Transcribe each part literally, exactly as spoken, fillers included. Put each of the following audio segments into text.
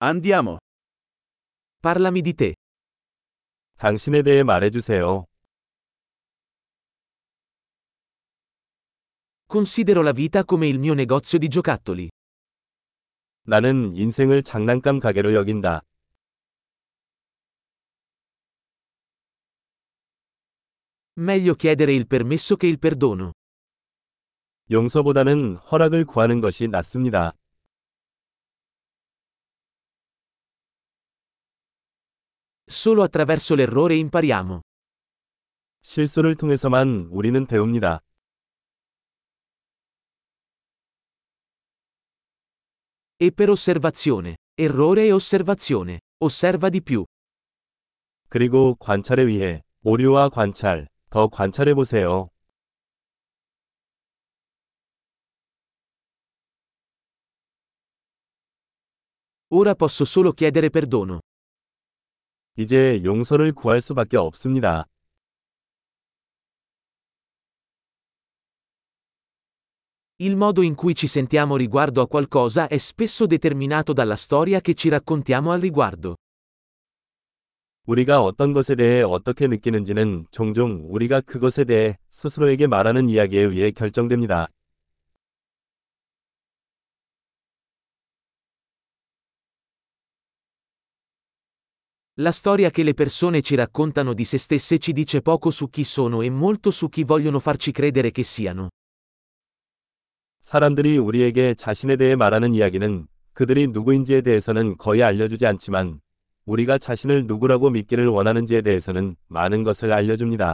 Andiamo. Parlami di te. 당신에 대해 말해주세요. Considero la vita come il mio negozio di giocattoli. 나는 인생을 장난감 가게로 여긴다. Meglio chiedere il permesso che il perdono. 용서보다는 허락을 구하는 것이 낫습니다. Solo attraverso l'errore impariamo. 실수를 통해서만 우리는 배웁니다. E per osservazione. Errore e osservazione. Osserva di più. 그리고 관찰에 의해 오류와 관찰, 더 관찰해 보세요. Ora posso solo chiedere perdono. 이제 용서를 구할 수밖에 없습니다. Il modo in cui ci sentiamo riguardo a qualcosa è spesso determinato dalla storia che ci raccontiamo al riguardo. 우리가 어떤 것에 대해 어떻게 느끼는지는 종종 우리가 그것에 대해 스스로에게 말하는 이야기에 의해 결정됩니다. La storia che le persone ci raccontano di se stesse ci dice poco su chi sono e molto su chi vogliono farci credere che siano. 사람들이 우리에게 자신에 대해 말하는 이야기는 그들이 누구인지에 대해서는 거의 알려주지 않지만 우리가 자신을 누구라고 믿기를 원하는지에 대해서는 많은 것을 알려줍니다.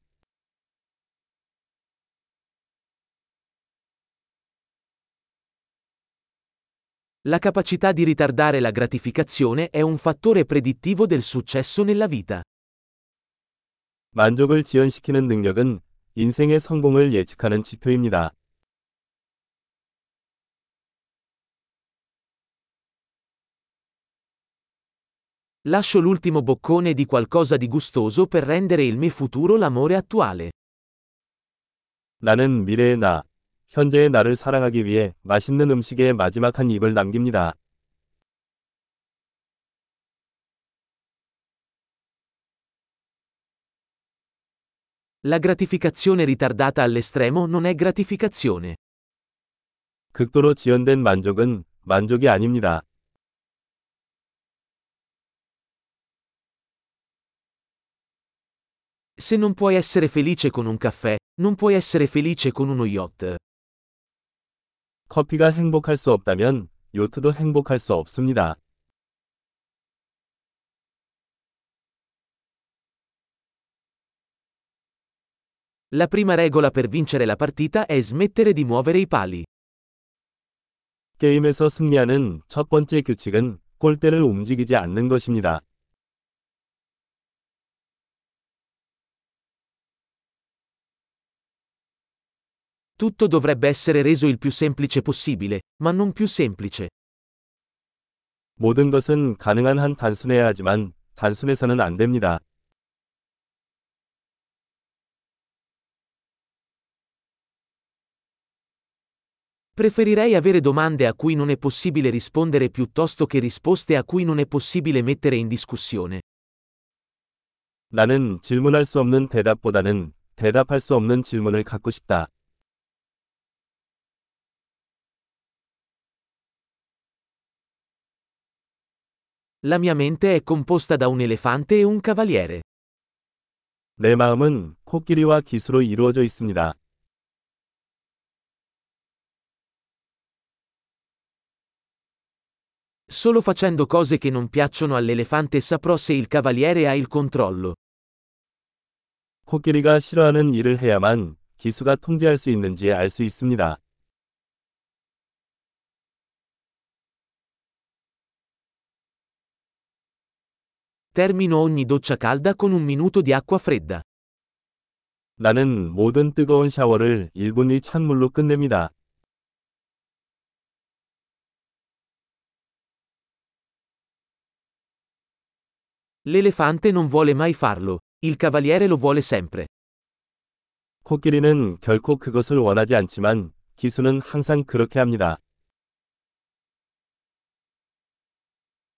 La capacità di ritardare la gratificazione è un fattore predittivo del successo nella vita. 만족을 지연시키는 능력은 인생의 성공을 예측하는 지표입니다. Lascio l'ultimo boccone di qualcosa di gustoso per rendere il mio futuro l'amore attuale. 나는 미래의 나, 현재의 나를 사랑하기 위해 맛있는 음식에 마지막 한 입을 남깁니다. La gratificazione ritardata all'estremo non è gratificazione. 극도로 지연된 만족은 만족이 아닙니다. Se non puoi essere felice con un caffè, non puoi essere felice con uno yacht. 커피가 행복할 수 없다면 요트도 행복할 수 없습니다. La prima regola per vincere la partita è smettere di muovere i pali. 게임에서 승리하는 첫 번째 규칙은 골대를 움직이지 않는 것입니다. Tutto dovrebbe essere reso il più semplice possibile, ma non più semplice. 모든 것은 가능한 한 단순해야 하지만 단순해서는 안 됩니다. Preferirei avere domande a cui non è possibile rispondere piuttosto che risposte a cui non è possibile mettere in discussione. 나는 질문할 수 없는 대답보다는 대답할 수 없는 질문을 갖고 싶다. La mia mente è composta da un elefante e un cavaliere. 내 마음은 코끼리와 기수로 이루어져 있습니다. Solo facendo cose che non piacciono all'elefante saprò se il cavaliere ha il controllo. 코끼리가 싫어하는 일을 해야만 기수가 통제할 수 있는지 알 수 있습니다. Termino ogni doccia calda con un minuto di acqua fredda. 나는 모든 뜨거운 샤워를 일 분 이 찬물로 끝냅니다. L'elefante non vuole mai farlo, il cavaliere lo vuole sempre. 코끼리는 결코 그것을 원하지 않지만 기수는 항상 그렇게 합니다.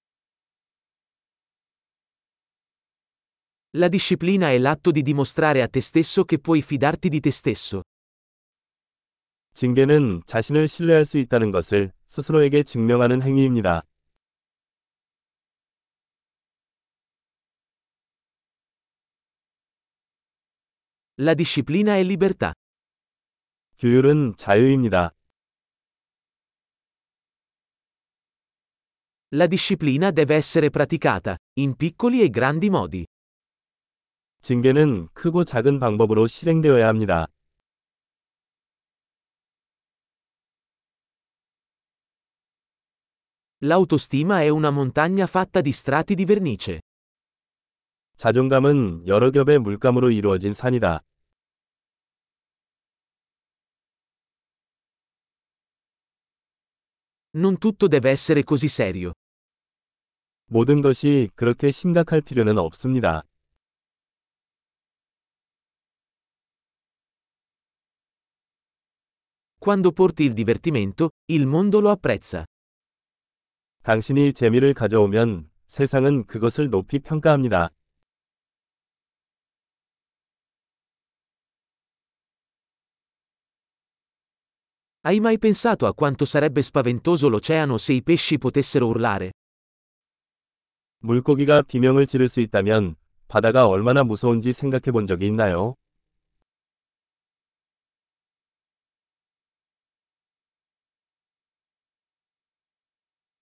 La disciplina è l'atto di dimostrare a te stesso che puoi fidarti di te stesso. 징계는 자신을 신뢰할 수 있다는 것을 스스로에게 증명하는 행위입니다. La disciplina è libertà. 규율은 자유입니다. La disciplina deve essere praticata, in piccoli e grandi modi. 징계는 크고 작은 방법으로 실행되어야 합니다. L'autostima è una montagna fatta di strati di vernice. 자존감은 여러 겹의 물감으로 이루어진 산이다. Non tutto deve essere così serio. 모든 것이 그렇게 심각할 필요는 없습니다. Quando porti il divertimento, il mondo lo apprezza. 당신이 재미를 가져오면 세상은 그것을 높이 평가합니다. Hai mai pensato a quanto sarebbe spaventoso l'oceano se i pesci potessero urlare? 물고기가 비명을 지를 수 있다면 바다가 얼마나 무서운지 생각해 본 적이 있나요?